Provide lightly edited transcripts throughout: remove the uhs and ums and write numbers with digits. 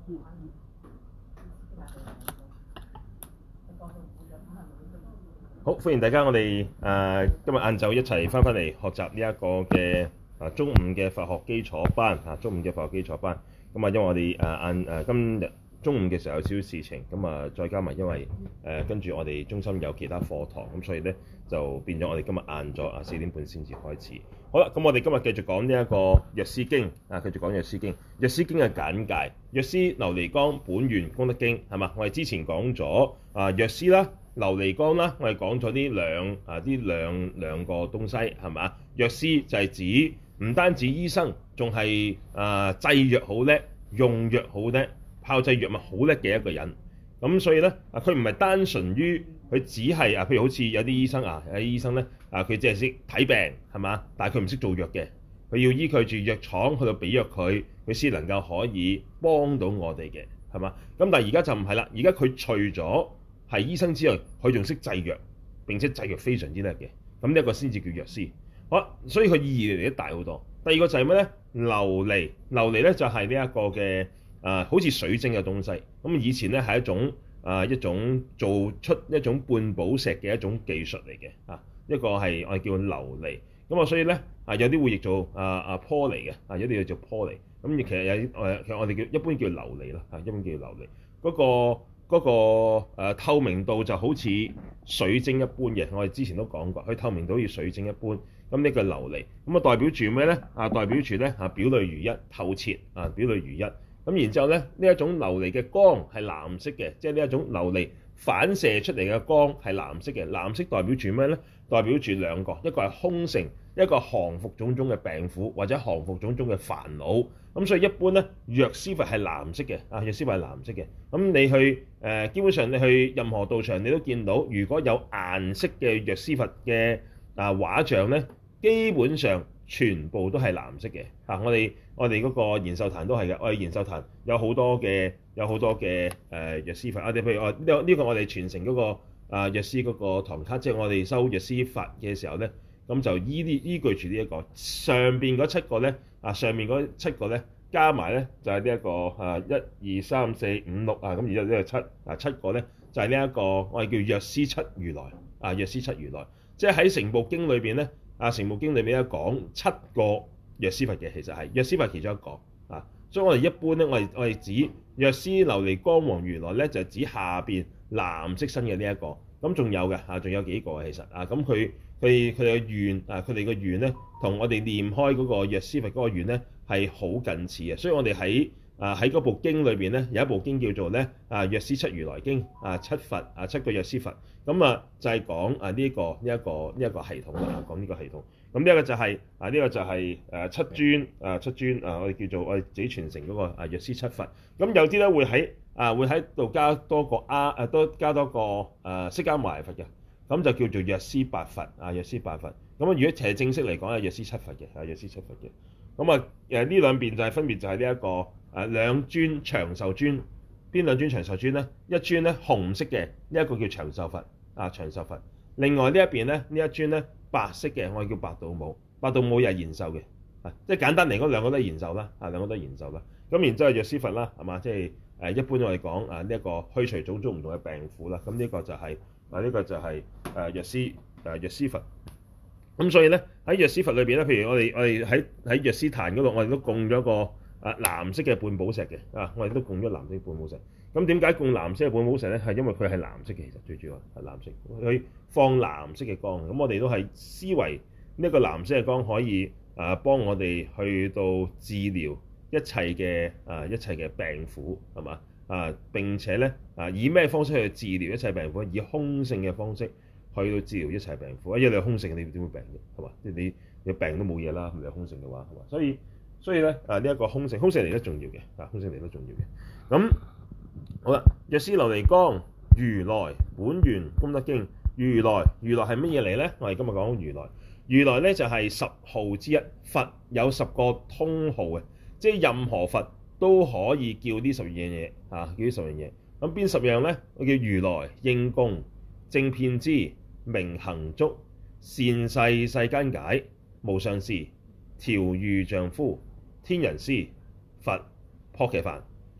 好，歡迎大家，我哋今日晏晝一齊翻嚟學習呢一個嘅中午嘅佛學基礎班中午嘅佛學基礎班。咁因為我哋今日中午嘅時候有少少事情，咁再加埋因為跟住我哋中心有其他課堂，咁所以咧就變咗我哋今日晏咗4點半先至開始。好啦，咁我哋今日繼續講呢一個《藥師經》繼續講《藥師經》。《藥師經》嘅簡介，《藥師琉璃光本願功德經》係嘛？我哋之前講咗藥師啦、琉璃光啦，我哋講咗呢兩個東西係嘛？藥師就係指唔單止醫生，仲係製藥好叻、用藥好叻、炮製藥物好叻嘅一個人。咁所以咧佢唔係單純於佢只係譬如好似有啲醫生有啲醫生咧佢只係識睇病係嘛，但係佢唔識做藥嘅，佢要依據住藥廠去到俾藥佢先能夠可以幫到我哋嘅係嘛。咁但係而家就唔係啦，而家佢除咗係醫生之外，佢仲識製藥，並且製藥非常之叻嘅。咁呢一個先至叫藥師。好，所以佢意義嚟得大好多。第二個就係咩咧？琉璃咧就係呢一個嘅好似水晶嘅東西。咁以前咧係一種做出一種半寶石嘅一種技術嚟嘅一個係我哋叫琉璃。咁所以咧有啲會譯做玻璃嘅有啲叫做玻璃。咁其實其實我哋一般叫琉璃啦一般叫琉璃。嗰個透明度就好似水晶一般嘅，我哋之前都講過，佢透明度好似水晶一般。咁呢個琉璃咁代表住咩咧？代表住咧表裏如一、透徹表裏如一。咁然之後咧，呢一種琉璃嘅光係藍色嘅，即係呢一種琉璃反射出嚟嘅光係藍色嘅。藍色代表住咩咧？代表住兩個，一個係空性，一個降伏種種嘅病苦或者降伏種種嘅煩惱。咁所以一般咧，藥師佛係藍色嘅藥師佛係藍色嘅。咁你去基本上你去任何道場，你都見到，如果有顏色嘅藥師佛嘅畫像咧，基本上全部都係藍色嘅我哋嗰個延壽壇都係嘅，我哋延壽壇有好多嘅藥師佛譬如呢個我哋傳承嗰個藥師嗰個堂卡，即係我哋收藥師佛嘅時候咧，咁就依據住呢一個上邊嗰7個咧上面嗰7個咧加埋咧就係呢一個1、2、3、4、5、6咁，然之後呢個7個咧就係呢一個我哋叫藥師七如來藥師七如來，即係喺成部經裏邊咧成部經裏邊咧講7個藥師佛嘅，其實係藥師佛其中一個所以我哋一般咧，我哋指藥師琉璃光王如來咧，就指下邊藍色身嘅呢一個。咁仲有嘅仲有幾個其實咁佢哋嘅願佢哋嘅願咧，同我哋念開嗰個藥師佛嗰個願咧係好近似嘅。所以我哋喺嗰部經裏邊咧，有一部經叫做咧藥師七如來經7佛7個藥師佛。咁就係講呢一個系統講呢個系統。咁呢一個就係呢個就係七尊我哋叫做我哋自己傳承嗰個藥師七佛。咁有啲咧會喺度加多個加多個釋迦牟尼佛嘅，咁就叫做藥師八佛藥師八佛。咁如果其實正式嚟講係藥師七佛嘅藥師七佛嘅。咁呢兩邊就係分別就係呢一個兩尊長壽尊。邊兩尊長壽尊咧？一尊咧紅色嘅呢一個叫長壽佛長壽佛。另外呢一邊咧呢一尊咧白色嘅我哋叫白度母。白度母又係延壽嘅即係簡單嚟講兩個都係延壽啦兩個都係延壽啦。咁然之後藥師佛啦係嘛，即係一般我哋講呢一個去除種種唔同嘅病苦啦。咁呢個就係呢個就係藥師佛。咁所以咧喺藥師佛裏邊咧，譬如我哋喺藥師壇嗰度，我哋都供咗個藍色嘅半寶石嘅我哋都供咗藍色半寶石。咁點解供藍色嘅半寶石咧？係因為佢係藍色嘅，其實最主要係藍色，佢放藍色嘅光。咁我哋都係思維呢個藍色嘅光可以幫我哋去到治療一切嘅病苦係嘛並且咧以咩方式去治療一切病苦？以空性嘅方式去到治療一切病苦。因為你空性，你點會病嘅係嘛？即係你病都冇嘢啦，你係空性嘅話係嘛？所以咧呢一個空性嚟得重要嘅空性嚟得重要嘅。咁好啦，藥師琉璃光如來本願功德經。如來係乜嘢嚟咧？我哋今日講如來咧就係10號之一。佛有10個通號嘅，即係任何佛都可以叫呢10樣嘢叫呢10樣嘢。咁邊10樣咧？我叫如來應供、正遍知、明行足、善逝世間解、無上士、調御丈夫、天人師、佛、薄伽梵、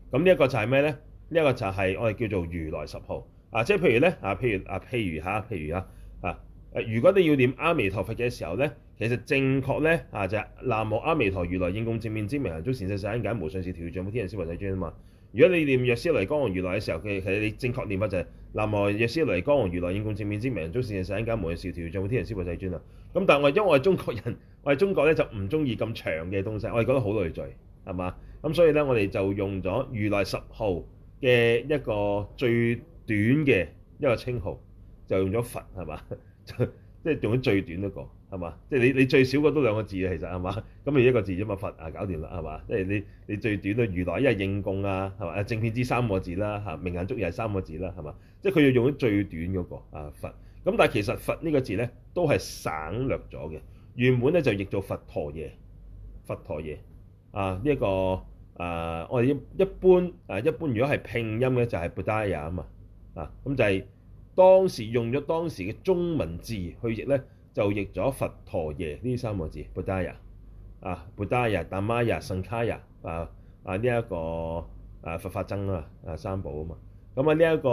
咁呢一個就係咩咧？呢一個就係我哋叫做如來十號即係譬如咧如果你要念阿彌陀佛嘅時候咧，其實正確咧就係南無阿彌陀如來應供正面之名行足善世世間解無上士調御諸天人師為世尊啊嘛。如果你念藥師如來光王如來嘅時候，其實你正確念法就係南無藥師如來光王如來應供正面之名行足善世世間解無上士調御諸天人師為世尊啊。咁但係因為我係中國人，我係中國咧就唔中意咁長嘅東西，我哋覺得好累贅係嘛。咁所以咧我哋就用咗如來十號嘅一個最短嘅一個稱號，就用咗佛係嘛。即係用咗最短一個係嘛？即係你最少個都兩個字嘅其實係嘛？咁你一個字啫嘛，佛搞掂啦係嘛？即係你最短嘅如來一係應供係嘛？正遍知三個字啦明行足又係三個字啦係嘛？即係佢要用咗最短嗰個佛。咁但係其實佛呢個字咧都係省略咗嘅，原本咧就譯做佛陀耶，佛陀耶呢一個我哋一般如果係拼音嘅就係 Buddhaya 啊嘛咁就係。當時用咗當時嘅中文字去譯咧，就譯咗佛陀耶呢三個字 Buddhaya、Buddhaya、Dhammaya、Sankhaya 呢一個佛法僧三寶啊嘛。咁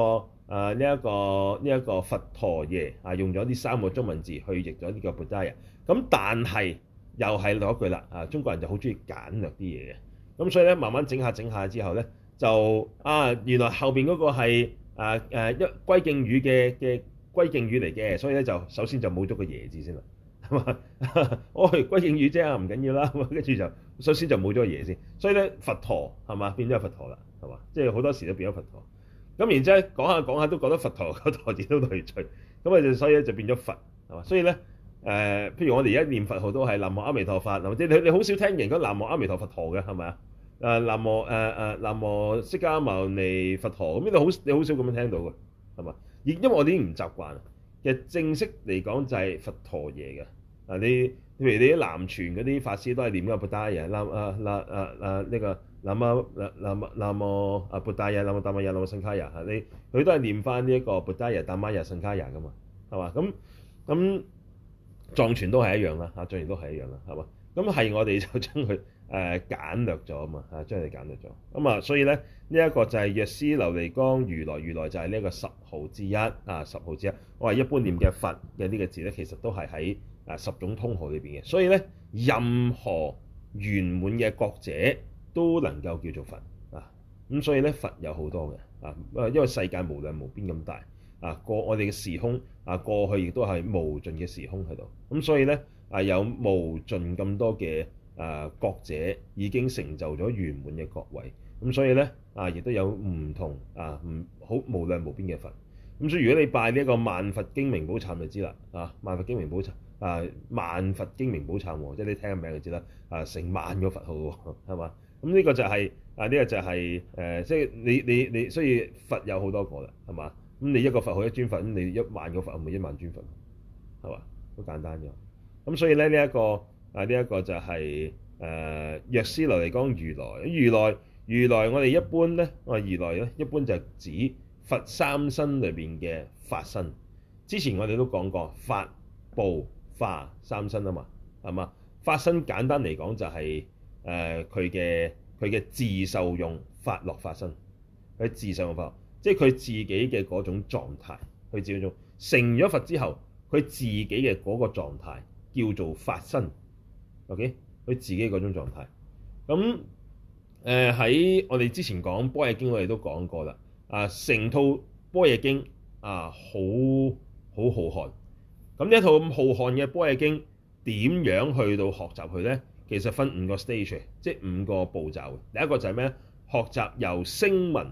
呢一個佛陀耶用咗呢三個中文字去譯咗呢個 Buddhaya。咁但係又係嗰句啦中國人就好中意簡略啲嘢嘅。咁所以咧慢慢整下之後咧，就原來後邊嗰個係。一歸敬語嘅歸敬語嚟嘅，所以咧就首先就冇咗個耶字先啦，係嘛？歸敬語啫，唔緊要啦。跟住就首先就冇咗個耶先，所以咧佛陀係嘛變咗佛陀啦，係嘛？即係好多時都變咗佛陀。咁然之後講下都覺得佛陀個陀字都累贅，咁所以咧就變咗佛係嘛？所以咧譬如我哋而家念佛號都係南無阿彌陀佛，即係你好少聽人講南無阿彌陀佛陀嘅係咪啊？南無釋迦牟尼佛陀咁，你好少咁樣聽到嘅係嘛？因為我哋已經唔習慣。其實正式嚟講就係佛陀耶嘅譬如你啲南傳嗰啲法師都係念嗰個 Buddhaya 呢個南無Buddhaya、南無 Dhammaya、南無 Sankhaya 佢都係念翻呢一個 Buddhaya、Dhammaya、Sankhaya 噶嘛係嘛？咁藏傳都係一樣啦藏傳都係一樣啦係嘛？咁係我哋就將佢簡略咗啊嘛將佢簡略咗咁所以咧呢一個就係藥師琉璃光如來就係呢一個十號之一十號之一。我係一般念嘅佛嘅呢個字咧，其實都係喺十種通號裏邊嘅。所以咧，任何圓滿嘅覺者都能夠叫做佛咁所以咧，佛有好多嘅因為世界無量無邊咁大我哋嘅時空過去亦都係無盡嘅時空喺度。咁所以咧有無盡咁多嘅覺者已經成就咗圓滿嘅覺位。咁所以咧亦都有唔同好無量無邊嘅佛。咁所以如果你拜呢一個萬佛經明寶懺就知啦萬佛經明寶懺萬佛經明寶懺即係你聽個名就知啦成萬個佛號喎係嘛？咁呢個就係呢個就係即係你所以佛有好多個啦係嘛？咁你一個佛號一尊佛，咁你一萬個佛號咪一萬尊佛係嘛？好簡單嘅。咁所以咧呢一個就係藥師琉璃光如來我哋一般咧如來咧一般就係指佛三身裏邊嘅法身。之前我哋都講過法報化三身啊嘛係嘛？法身簡單嚟講就係佢嘅自受用法樂法身，佢自受用法樂即係佢自己嘅嗰種狀態，佢自己種成咗佛之後，佢自己嘅嗰個狀態叫做法身。OK， 佢自己嗰種狀態。咁喺我哋之前講般若經，我哋都講過啦。成套般若經好浩瀚。咁呢一套咁浩瀚嘅般若經點樣去到學習佢咧？其實分5個 stage， 即係5個步驟。第一個就係咩？學習由聲聞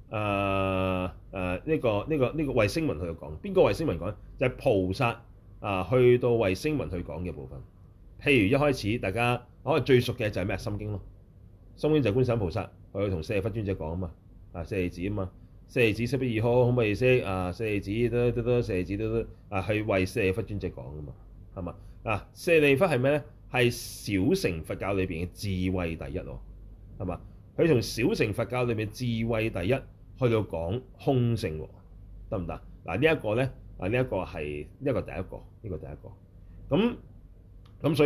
呢個為聲聞去講。邊個為聲聞講？就係菩薩去到為聲聞去講嘅部分。譬如一開始大家可能最熟嘅就係咩？心經咯。心經就係觀世音菩薩去同舍利弗尊者講啊嘛，舍利子啊嘛，舍利子悉不異空，空不異色舍利子舍利子去為舍利弗尊者講啊嘛，係嘛舍利弗係咩咧？係小乘佛教裏邊嘅智慧第一喎，係嘛？佢從小乘佛教裏邊智慧第一去到講空性喎，得唔得？呢一個咧呢一個係第一個，咁所以咧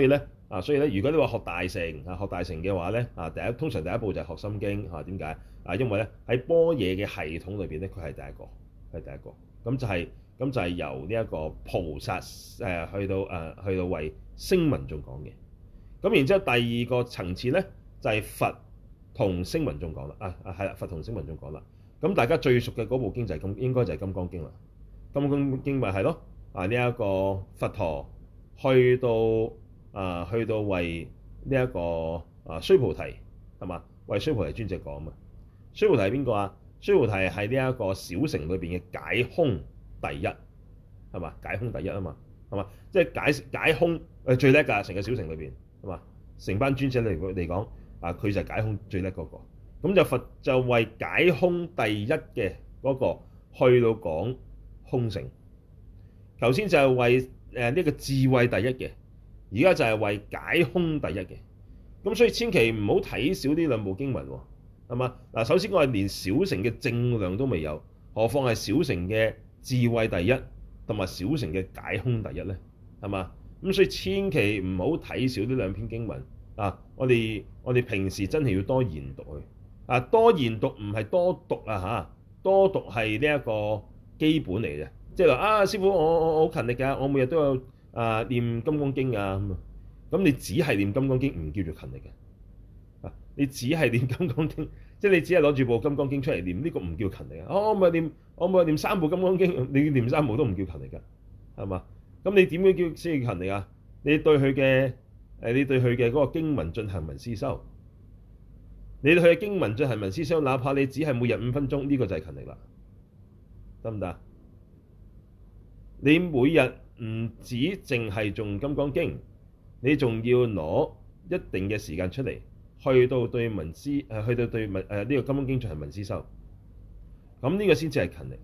所以咧，如果你話學大乘學大乘嘅話咧通常第一步就係學心經點解因為咧喺般若嘅系統裏邊咧，佢係第一個，咁就係由呢一個菩薩去到為聲聞眾講嘅。咁然之後第二個層次咧就係佛同聲聞眾講啦係啦，佛同聲聞眾講啦。咁大家最熟嘅嗰部經就係應該就係《金剛經》啦，《金剛經》咪係咯呢一個佛陀去到為呢一個須菩提係嘛，為須菩提尊者講嘛。須菩提係邊個啊？須菩提係呢一個小乘裏邊嘅解空第一係嘛，解空第一啊嘛係嘛，即係解空最叻㗎，成個小乘裏邊係嘛，成班尊者嚟講佢就係解空最叻嗰個。咁就佛就為解空第一嘅嗰個去到講空性。頭先就係為呢個智慧第一嘅，而家就係為解空第一嘅。咁所以千祈唔好睇少呢兩部經文喎，係嘛？嗱，首先我係連小乘嘅正量都未有，何況係小乘嘅智慧第一同埋小乘嘅解空第一咧，係嘛？咁所以千祈唔好睇少呢兩篇經文我哋平時真係要多研讀佢。多研讀唔係多讀多讀係呢一個基本嚟嘅，即係話師父我好勤力㗎，我每日都有念金剛經咁你只係念金剛經唔叫做勤力嘅你只係念金剛經，即係你只係攞住部金剛經出嚟念，呢個唔叫勤力我每日念3部金剛經，你念3部都唔叫勤力㗎，係嘛？咁你點樣叫先叫勤力啊？你對佢嘅嗰個經文進行聞思修。你去經文進行聞思修，哪怕你只係每日5分鐘，呢個就係勤力啦，得唔得？你每日唔止淨係誦金剛經，你仲要攞一定嘅時間出嚟，去到對呢個金剛經進行聞思修，咁呢個先至係勤力。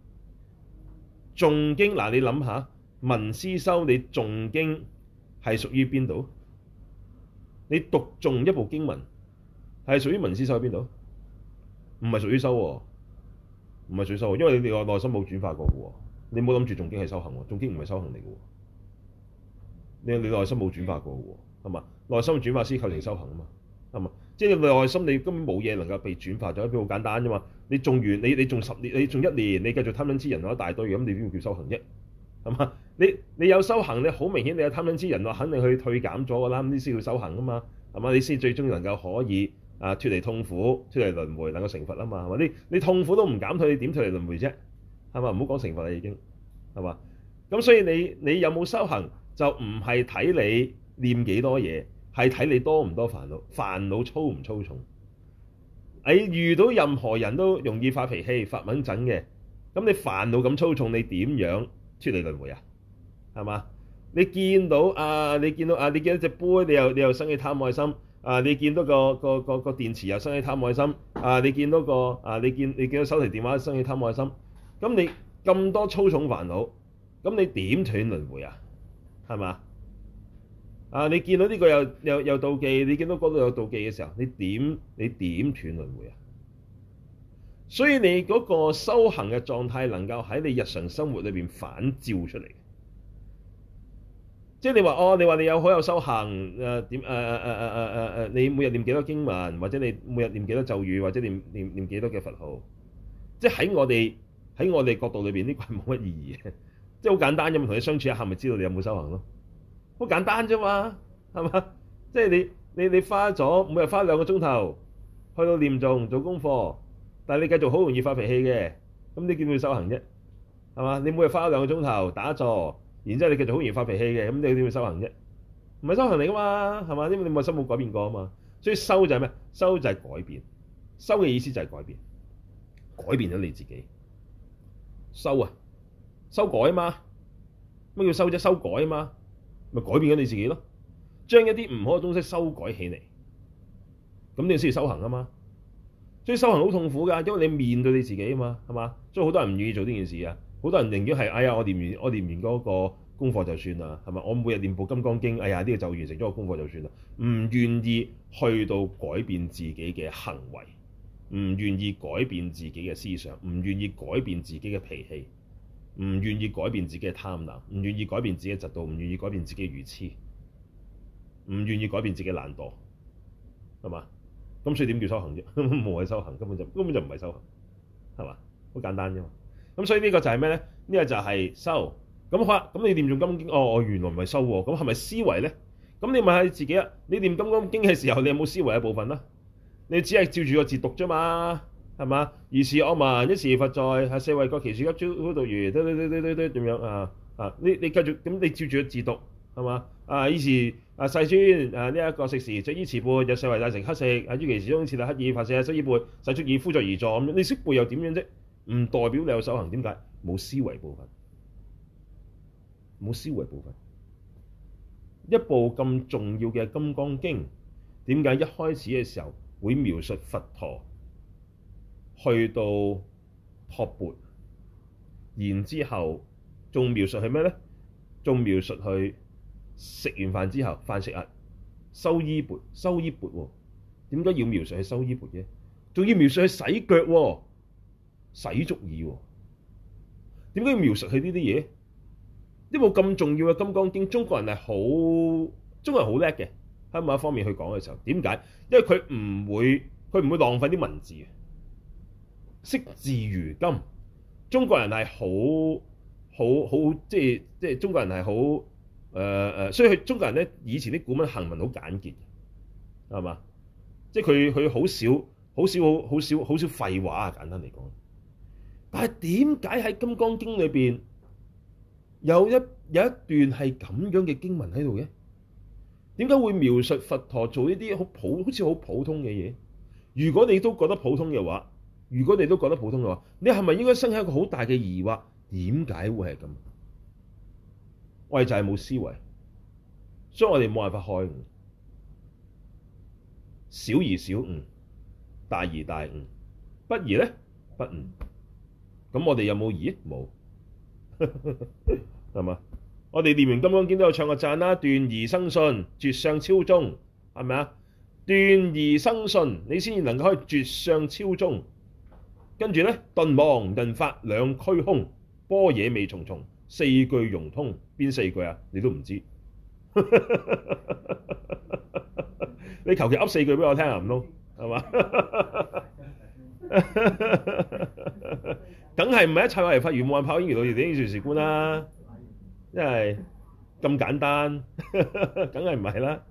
誦經你諗下，聞思修你誦經係屬於邊度？你讀誦一部經文。係屬於聞思修喺邊度？唔係屬於修喎，唔係屬於修喎，因為你個內心冇轉化過嘅喎。你冇諗住誦經係修行喎，誦經唔係修行嚟嘅喎。你內心冇轉化過嘅喎，係嘛？內心轉化先構成修行啊嘛，係嘛？即係你內心你根本冇嘢能夠被轉化咗，好簡單啫嘛。你誦完你誦10年，你誦1年，你繼續貪嗔痴人攞一大堆，咁你點叫修行啫？係嘛？你有修行，你好明顯你有貪嗔痴人攞，肯定去退減咗㗎啦，咁啲先叫修行啊嘛，係嘛？你先最終能夠可以脫離痛苦，脫離輪迴，能夠成佛啊嘛，係嘛？你痛苦都唔減退，你點脫離輪迴啫？係嘛？唔好講成佛啦，已經係嘛？咁所以你有冇修行，就唔係睇你念幾多嘢，係睇你多唔多煩惱，煩惱粗唔粗重。你遇到任何人都容易發脾氣、發敏疹嘅，咁你煩惱咁粗重，你點樣脫離輪迴啊？係嘛？你見到隻杯，你又生起貪愛心。你見到個電池又生起貪愛心，你見到你見到手提電話生起貪愛心，咁你咁多粗重煩惱，咁你點斷輪迴啊？係嘛？你見到呢個又妒忌，你見到嗰度有妒忌嘅時候，你點斷輪迴啊？所以你嗰個修行嘅狀態能夠喺你日常生活裏邊反照出嚟。即係你話你話你好有修行你每日念幾多經文，或者你每日念幾多咒語，或者念幾多嘅佛號，即係喺我哋角度裏邊，呢個係冇乜意義嘅，即係好簡單啫嘛，同你相處一下咪知道你有冇修行咯，好簡單啫嘛，係嘛？即係你每日花2個鐘頭去到念誦做功課，但係你繼續好容易發脾氣嘅，咁你叫佢修行啫？係嘛？你每日花2個鐘頭打坐。然之後你繼續好容易發脾氣嘅，咁你點會修行啫？唔係修行嚟噶嘛，係嘛？因為你內心冇改變過啊嘛，所以修就係咩？修就係改變。修嘅意思就係改變，改變咗你自己。修改啊嘛。乜叫修啫？修改啊嘛，咪改變咗你自己咯。將一啲唔好嘅東西修改起嚟，咁你先要修行啊嘛。所以修行好痛苦㗎，因為你面對你自己啊嘛，係嘛？所以好多人唔願意做呢件事啊。好多人寧願係我念完嗰個功課就算啦，係咪？我每日念部金剛經，呢個就完成咗個功課就算啦，唔願意去到改變自己嘅行為，唔願意改變自己嘅思想，唔願意改變自己嘅脾氣，唔願意改變自己嘅貪婪，唔願意改變自己嘅嫉妒，唔願意改變自己嘅愚痴， 唔願意改變自己懶惰，係嘛？咁所以點叫修行啫？冇係修行，根本就唔係修行，係嘛？好簡單啫嘛。咁所以呢個就係咩咧？呢個就係修。咁好啦，咁你念誦金剛經，原來唔係修喎，咁係咪思維咧？咁你問下你自己啊，你念金剛經嘅時候，你有冇思維嘅部分啦？你只係照住個字讀啫嘛，係嘛？爾時我聞，一時佛在，四位各耆數急招導如，點樣啊？你繼續咁，你照住個字讀係嘛？爾時世尊呢一個食時，著衣持缽，有四位大乘乞食，於其時中設立乞已，飯舍施衣缽，世出以趺坐而坐咁樣。你識背又點樣啫？唔代表你有修行，點解？冇思維部分，冇思維部分。一部咁重要嘅《金剛經》，點解一開始嘅時候會描述佛陀去到托缽，然之後仲描述係咩咧？仲描述去食完飯之後，飯食收衣缽喎。點解要描述去收衣缽嘅？仲要描述去洗腳喎，洗足耳喎。點解要描述去呢啲嘢？呢部咁重要嘅《金剛經》，中國人好叻嘅，喺某一方面去講嘅時候，點解？因為佢唔會浪費啲文字，惜字如金。中國人係好即係中國人係好所以中國人咧，以前啲古文行文好簡潔，係嘛？即係佢好少廢話啊！簡單嚟講，但係點解喺《金剛經》裏邊有一段係咁樣嘅經文喺度嘅？點解會描述佛陀做呢啲好似好普通嘅嘢？如果你都覺得普通嘅話，你係咪應該生起一個好大嘅疑惑？點解會係咁？我哋就係冇思維，所以我哋冇辦法開悟。小而小悟，大而大悟，不疑咧不悟。咁我哋有冇疑？冇，係嘛？我哋念完《金剛經》都有唱個讚啦，斷疑生信，絕相超中，係咪啊？斷疑生信，你先至能夠可以絕相超中。跟住咧，頓忘人法兩虛空，般若味重重，四句融通。邊四句啊？你都唔知。你求其噏四句俾我聽啊，唔通係嘛？梗係唔係一切有為法如夢幻泡影，如露亦如電，應如是觀啦。因為咁簡單，梗係唔係啦。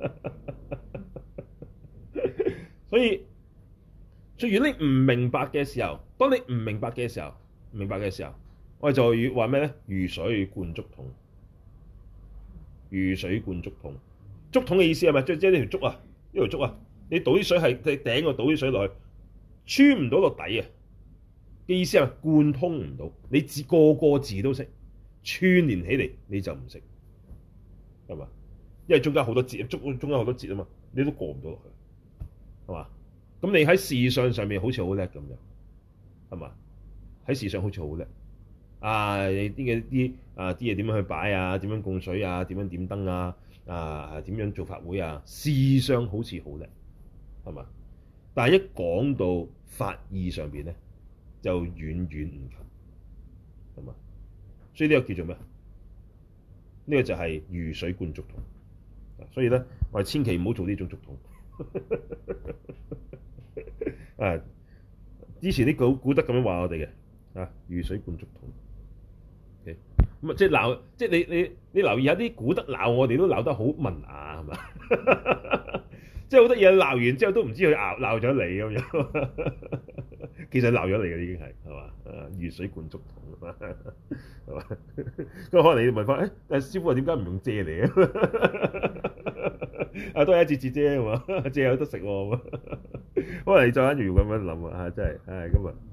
所以如果你唔明白嘅時候，當你唔明白嘅時候，我哋就要話咩咧？如水灌竹筒，如水灌竹筒。竹筒嘅意思係咪即係呢條竹啊？呢條竹啊，你倒啲水係你頂個倒啲水落去，穿唔到落底啊！嘅意思係貫通唔到，你個個字都識，串連起嚟你就唔識，係嘛？因為中間好多節，中間好多節啊嘛，你都過唔到落去，係嘛？咁你喺事相上面好似好叻咁樣，係嘛？喺事上好似好叻你啲嘢點樣去擺啊？點樣供水啊？點樣點燈啊？點樣做法會啊？事相好似好叻，係嘛？但係一講到法義上邊咧，就遠遠唔及，係嘛？所以呢個叫做咩？呢個就係如水灌竹筒。所以咧，我哋千祈唔好做呢種竹筒。之前啲古德咁樣話我哋嘅如水灌竹筒。咁即係鬧，即係你留意下啲古德鬧我哋都鬧得好文雅，係嘛？即係好多嘢鬧完之後都唔知佢鬧咗你咁樣，其實鬧咗你嘅已經係嘛？如水灌竹筒係嘛？咁可能你問翻但係師傅話點解唔用蔗嚟都係一節節啫係嘛？蔗有得食喎，可能你再跟住咁樣諗真係咁啊！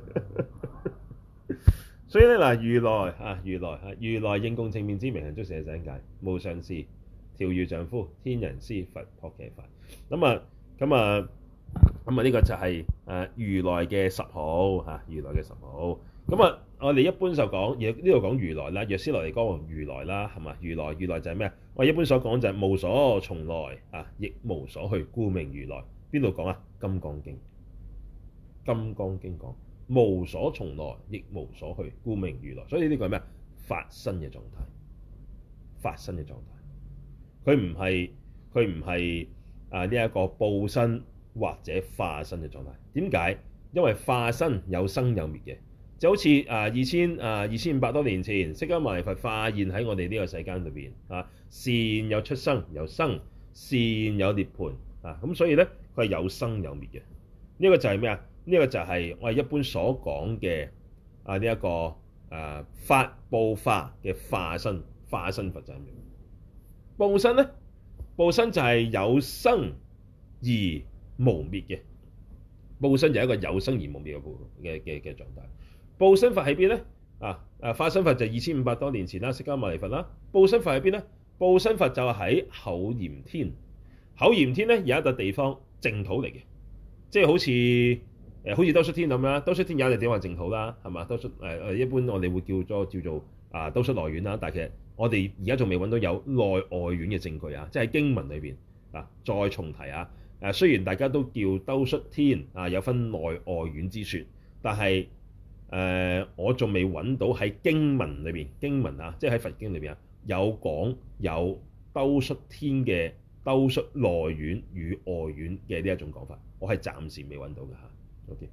所以咧如來應供稱遍知名行足舍世間界，無上士調御丈夫，天人師佛薄伽梵。咁啊呢個就係如來嘅十號如來嘅十號。咁我哋一般就講，呢度講如來啦，藥師琉璃光王如來啦，係嘛？如來就係咩？我一般所講就係無所從來亦無所去，故名如來。邊度講啊？金剛經。金剛經講無所從來，亦無所去，故名如來。所以呢個係咩？法身嘅狀態。法身嘅狀態。佢佢唔係呢一個報身或者化身嘅狀態。點解？因為化身有生有滅嘅，就好似2500多年前釋迦牟尼佛化現喺我哋呢個世間裏邊啊，善有出生有生，善有涅槃啊，咁所以咧佢係有生有滅嘅。呢個就係咩啊？呢個就係我哋一般所講嘅呢一個法報化嘅化身佛就係咩？報身咧，報身就係有生而無滅嘅。報身就係一個有生而無滅嘅狀態。報身佛喺邊咧？化身佛就2500多年前啦，釋迦牟尼佛啦。報身佛喺邊咧？報身佛就喺口炎天。口炎天咧有一笪地方淨土嚟嘅，即係好似兜率天咁啦。兜率天有一笪地方係淨土啦，係嘛？兜率一般我哋會叫做兜率內院啦。但係其實我哋而家仲未揾到有內外院嘅證據啊，即係經文裏邊再重提啊。雖然大家都叫兜率天有分內外院之說，但係我仲未揾到喺經文裏邊即係喺佛經裏邊有講有兜率天嘅兜率內院與外院嘅呢一種講法，我係暫時未揾到嘅嚇。OK，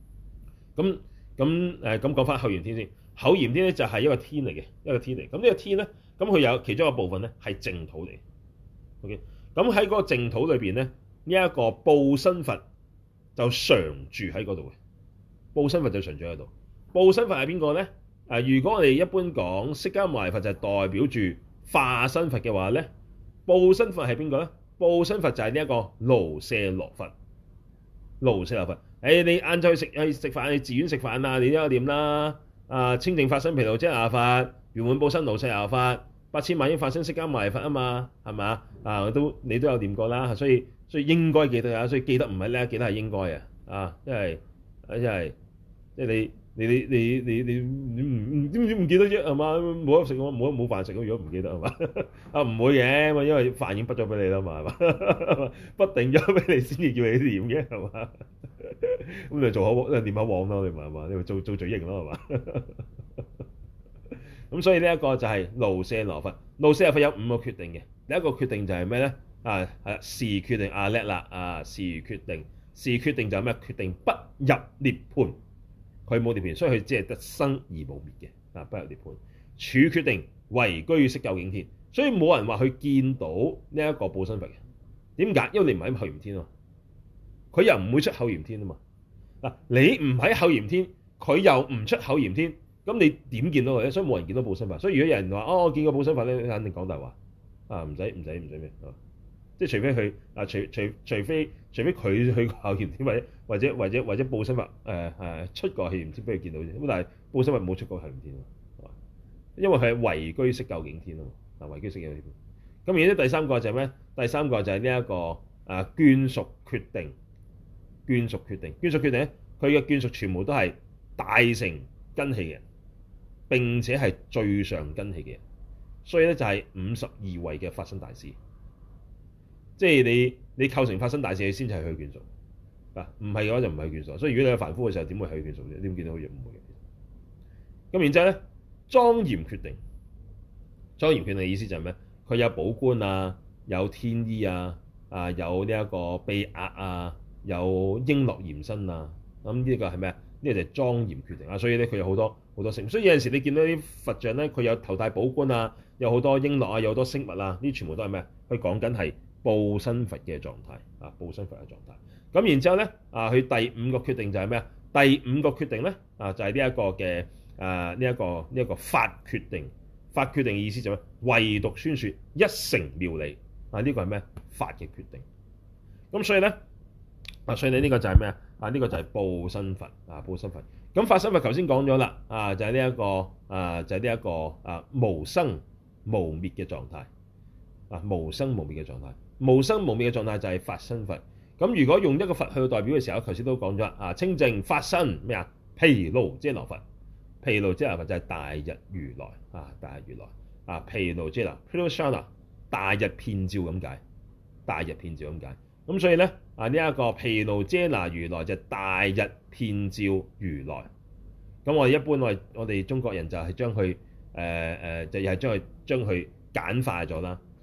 咁講翻口炎天先。口炎天咧就係一個天嚟嘅，一個天嚟。咁呢個天咧，咁佢有其中一個部分咧係淨土嚟。OK， 咁喺嗰個淨土裏邊咧，呢一個報身佛就常住喺嗰度嘅。報身佛就常住喺度。報身佛係邊個咧？如果我哋一般講釋迦牟尼佛就係代表住化身佛嘅話咧，報身佛係邊個咧？報身佛就係呢一個盧舍羅佛。盧舍羅佛，你晏晝去食飯，你寺院食飯啊，你都有點啦。清淨法身毗盧遮那佛，圓滿報身盧舍羅佛，8000萬億法身釋迦牟尼佛啊嘛，係嘛？你都有念過啦，所以應該記得啊，所以記得唔係叻，記得係應該啊，因為即係你唔記得啫係嘛？冇得食冇飯食，如果唔記得係嘛？唔會嘅，因為飯已經畢咗俾你啦嘛，係嘛？畢定咗俾你先至叫你念嘅係嘛？咁你做好念口簧咯，你咪係嘛？你咪做嘴型咯係嘛？咁所以呢一個就係盧舍羅佛。盧舍羅佛有5個決定嘅。第一個決定就係咩咧？時決定叻啦時決定就係咩？決定不入涅槃。佢冇涅槃，所以佢只係得生而無滅嘅不入涅槃。處決定唯居色究竟天，所以冇人話佢見到呢一個報身佛嘅。點解？因為你唔喺口炎天啊，佢又唔會出口炎天啊嘛。你唔喺口炎天，佢又唔出口炎天，咁你點見到佢咧？所以冇人見到報身佛。所以如果有人話我見過報身佛咧，你肯定講大話唔使咩即係除非佢除非佢去口炎天或者報身佛出過口炎天俾佢見到啫。咁但係報身佛冇出過口炎天啊，因為佢係唯居色究竟天啊嘛。唯居色究竟天。咁然之後第三個就係咩？第三個就係呢一個眷屬決定。眷屬決定咧，佢嘅眷屬全部都係大乘根器嘅人，並且係最上根器嘅人，所以咧就係52位嘅法身大士。即係你構成法身大士，你先至係佢眷屬唔係嘅話就唔係眷屬。所以如果你係凡夫嘅時候，點會係佢眷屬啫？點見到佢亦唔會嘅。咁然之後咧，莊嚴決定。莊嚴決定嘅意思就係咩？佢有寶冠有天衣有呢一個臂額有瓔珞嚴身咁呢個係咩？呢個就係莊嚴決定所以咧佢有好多飾。所以有陣時你見到啲佛像咧，佢有頭戴寶冠有好多瓔珞有好多飾物呢啲全部都係咩？佢講緊係報身佛嘅狀態報身佛嘅狀態。咁然之後咧佢第5個決定就係咩？第5個決定咧就係呢一個嘅呢一個法決定。法決定嘅意思就係咩？唯獨宣說一乘妙理呢個係咩？法嘅決定。咁所以咧所以你呢個就係咩呢個就係報身佛報身佛。咁法身佛頭先講咗啦就係呢一個就係呢一個無生無滅嘅狀態無生無滅嘅狀態。無生無滅嘅狀態就係法身佛。咁如果用一個佛去代表嘅時候，頭先都講咗清淨法身咩毗盧遮那佛。毗盧遮那佛就係大日如來大日如來毗盧遮那 Pirusana 大日遍照咁解，大日遍照咁解。咁所以咧呢一個毗盧遮那如來就大日遍照如來。咁我哋一般我哋中國人就係將佢就係將佢簡化咗啦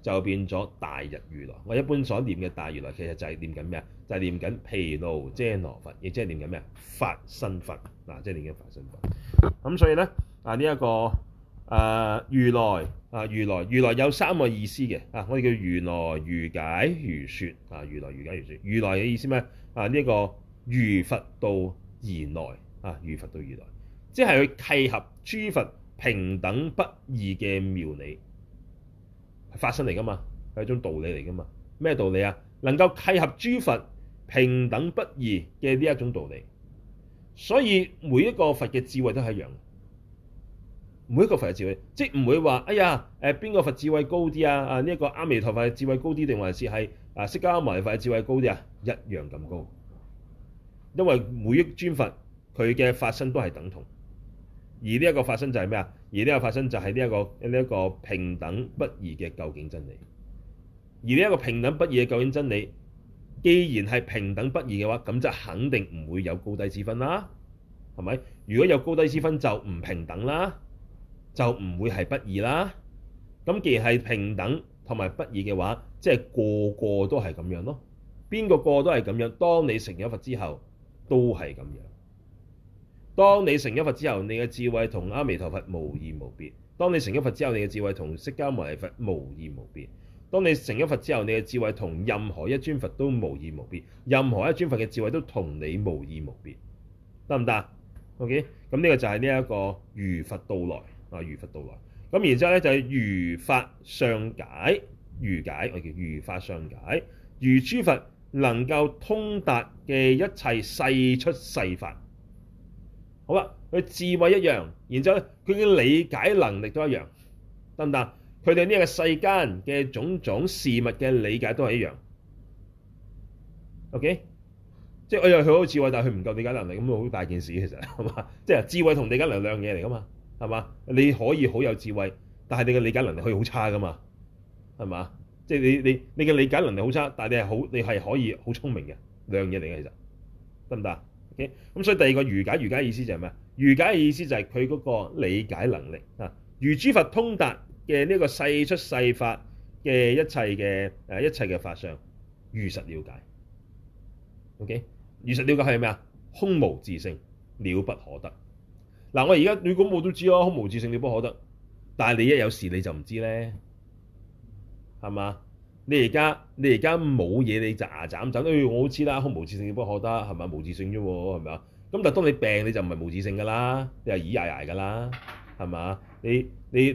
就變咗大日如來。我一般所念嘅大如來，其實就係念緊咩啊？就係念緊毗盧遮那佛，亦即係念緊咩啊？法身佛嗱，即係念緊法身佛。咁所以咧呢一個如來有三個意思嘅我哋叫如來、如解、如說如來、如解、如說。如來嘅意思咩？呢個如佛道而來如佛道而來，即係佢契合諸佛平等不二嘅妙理，係法身嚟噶嘛，係一種道理嚟噶嘛。咩道理啊？能夠契合諸佛平等不二嘅呢一種道理。所以每一個佛嘅智慧都係一樣，每一個佛嘅智慧，即係唔會話哎呀邊個佛智慧高啲呢一個阿彌陀佛嘅智慧高啲，定還是係釋迦牟尼佛嘅智慧高啲一樣咁高。因為每一尊佛佢嘅法身都係等同，而呢一個法身就係咩啊？而呢個法身就係呢一個平等不二嘅究竟真理。而呢一個平等不二嘅究竟真理，既然係平等不二嘅話，咁就肯定唔會有高低之分啦，係咪？如果有高低之分，就唔平等啦，就唔會係不二啦。咁既然係平等同埋不二嘅話，即係個個都係咁樣咯。邊個個都係咁樣？當你成咗佛之後，都係咁樣。當你成咗佛之後，你嘅智慧同阿彌陀佛無異無別；當你成咗佛之後，你嘅智慧同釋迦牟尼佛無異無別；當你成咗佛之後，你嘅智慧同任何一尊佛都無異無別，任何一尊佛嘅智慧都同你無異無別，得唔得？OK， 咁呢個就係呢一個如佛到來如佛到來。咁然之後咧就係如法相解，如解我叫如法相解，如諸佛能夠通達嘅一切世出世法。好啦，佢智慧一樣，然之後咧佢嘅理解能力都一樣，得唔得？佢哋呢個世間嘅種種事物嘅理解都係一樣。OK， 即係我又佢好智慧，但係佢唔夠理解能力，咁好大件事其實係嘛？即係智慧同理解能力兩樣嘢嚟噶嘛，係嘛？你可以好有智慧，但係你嘅理解能力可以好差噶嘛，係嘛？即係你嘅理解能力好差，但係你係可以好聰明嘅，兩樣嘢嚟嘅其實，得唔得？OK， 咁所以第二個如解意思就係咩？如解嘅意思就係佢嗰個理解能力如諸佛通達嘅呢個世出世法嘅一切嘅法相，如實了解。OK， 如實了解係咩啊？空無自性，了不可得。嗱，我而家你講我都知咯，空無自性，了不可得。但係你一有事你就唔知咧，係嘛？你而家冇嘢你就牙斬斬，我都知啦，空無自性了不可得，係咪？無自性啫喎，係咪啊？咁但係當你病你就唔係無自性噶啦，你係咿牙牙噶啦，係嘛？你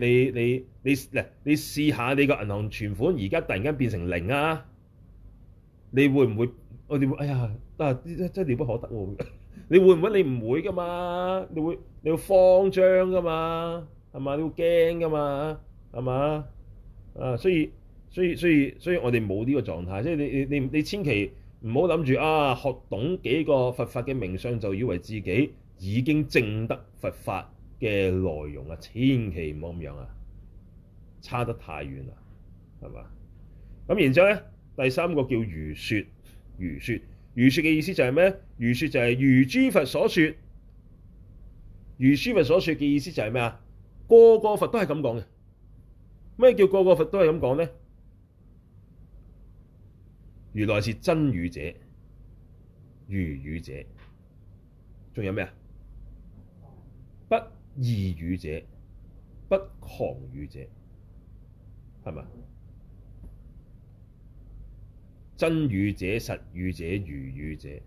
試下你個銀行存款而家突然間變成零啊，你會唔會？我哋會哎呀，真係了不可得喎！你會唔會？你唔會噶嘛？你會慌張噶嘛？係嘛？你會驚噶嘛？係嘛？所以我哋冇呢個狀態，即係你千祈唔好諗住學懂幾個佛法嘅名相就以為自己已經證得佛法嘅內容啊！千祈唔好咁樣啊，差得太遠啦，係嘛？咁然之後咧，第三個叫如說，如說嘅意思就係咩？如說就係如諸佛所說，如諸佛所說嘅意思就係咩啊？個個佛都係咁講嘅。咩叫個個佛都係咁講咧？如來是真語者、如語者，仲有咩啊？不異語者、不誑語者，係咪？真語者、實語者、如語者，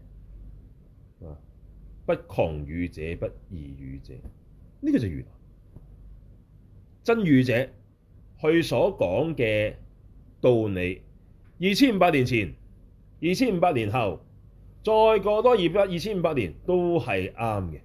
不誑語者、不異語者，呢個就係如來真語者。佢所講嘅道理，2500年前、2500年後，再過多2500年都係啱嘅。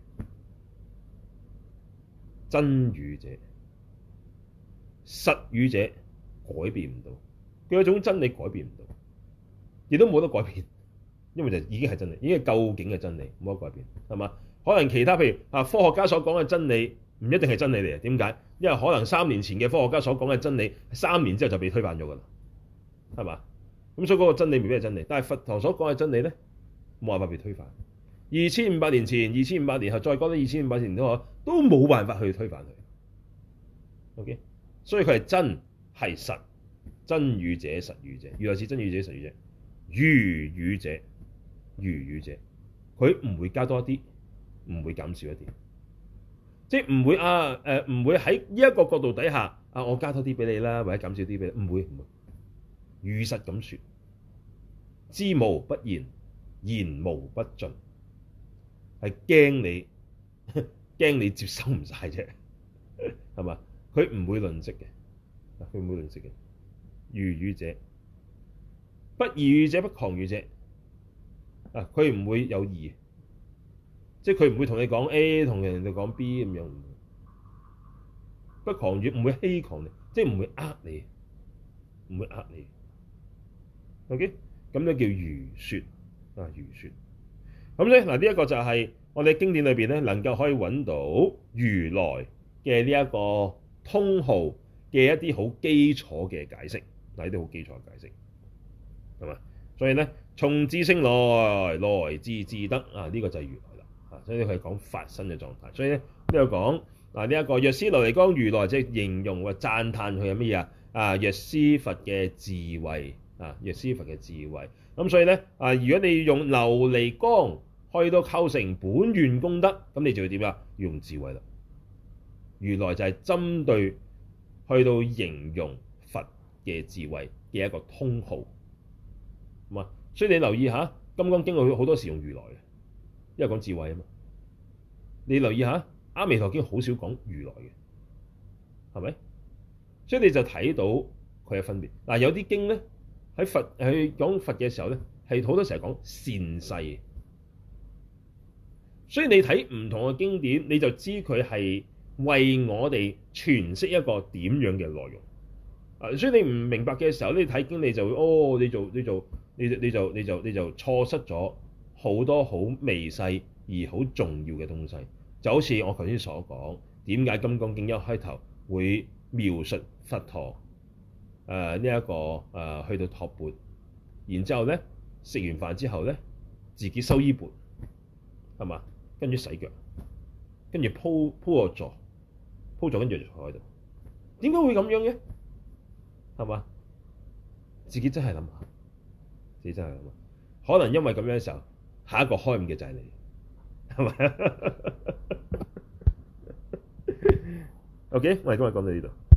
真語者，實語者改變唔到，佢有種真理改變唔到，亦都冇得改變，因為就已經係真理，已經係究竟嘅真理，冇得改變，係嘛？可能其他譬如科學家所講嘅真理唔一定係真理嚟嘅，點解？因為可能3年前嘅科學家所講嘅真理，3年之後就被推翻咗㗎啦，係嘛？咁所以嗰個真理未必係真理，但係佛陀所講嘅真理咧，冇辦法被推翻。2500年前、2500年後，再講多2500年都冇辦法去推翻佢。OK， 所以佢係真係實， 真語者、實語者。如來是真語者、實語者。如語者，如語者，佢唔會加多一啲，唔會減少一啲，即係唔會唔會喺呢一個角度底下我加多啲俾你啦，或者減少啲俾你，唔會，如實咁說，知無不言，言無不盡，係驚你接收唔晒啫，係嘛？佢唔會吝嗇嘅，佢唔會吝嗇嘅。如語者，不異語者，不誑語者，佢唔會有異，即係佢唔會同你講 A 同人哋講 B 咁樣，不誑語唔會欺誑你，即係唔會呃你，唔會呃你。OK， 咁咧叫如說如說。咁咧呢一個就係我哋經典裏邊咧能夠可以揾到如來嘅呢一個通號嘅一啲好基礎嘅解釋，嗱呢啲好基礎嘅解釋，係嘛？所以咧從自性來，來自自得呢個就係如來啦。所以佢係講法身嘅狀態。所以咧呢度講呢一個藥師琉璃光如來，即係形容或讚歎佢係乜嘢藥師佛嘅智慧藥師佛嘅智慧。咁所以咧如果你用琉璃光去到構成本願功德，咁你就要點啦？要用智慧啦。如來就係針對去到形容佛嘅智慧嘅一個通號，所以你留意下《金剛經》好多時用如來嘅，因為講智慧啊嘛。你留意下《阿彌陀經》好少講如來嘅，係咪？所以你就睇到佢嘅分別。有啲經咧喺佛去講佛嘅時候咧，係好多時候講善逝。所以你睇唔同嘅經典，你就知佢係為我哋詮釋一個點樣嘅內容。所以你唔明白嘅時候，你睇經你就會你就錯失咗好多好微細而好重要嘅東西。就好似我頭先所講，點解《金剛經》一開頭會描述佛陀呢一個去到托缽，然之後咧食完飯之後咧自己收衣缽，係嘛？跟住洗腳，跟住鋪個座，跟住就坐喺度。點解會咁樣嘅？係嘛？自己真係諗下，自己真係諗下。可能因為咁樣嘅時候，下一個開悟嘅就係你，係咪？OK，我哋今日講到呢度。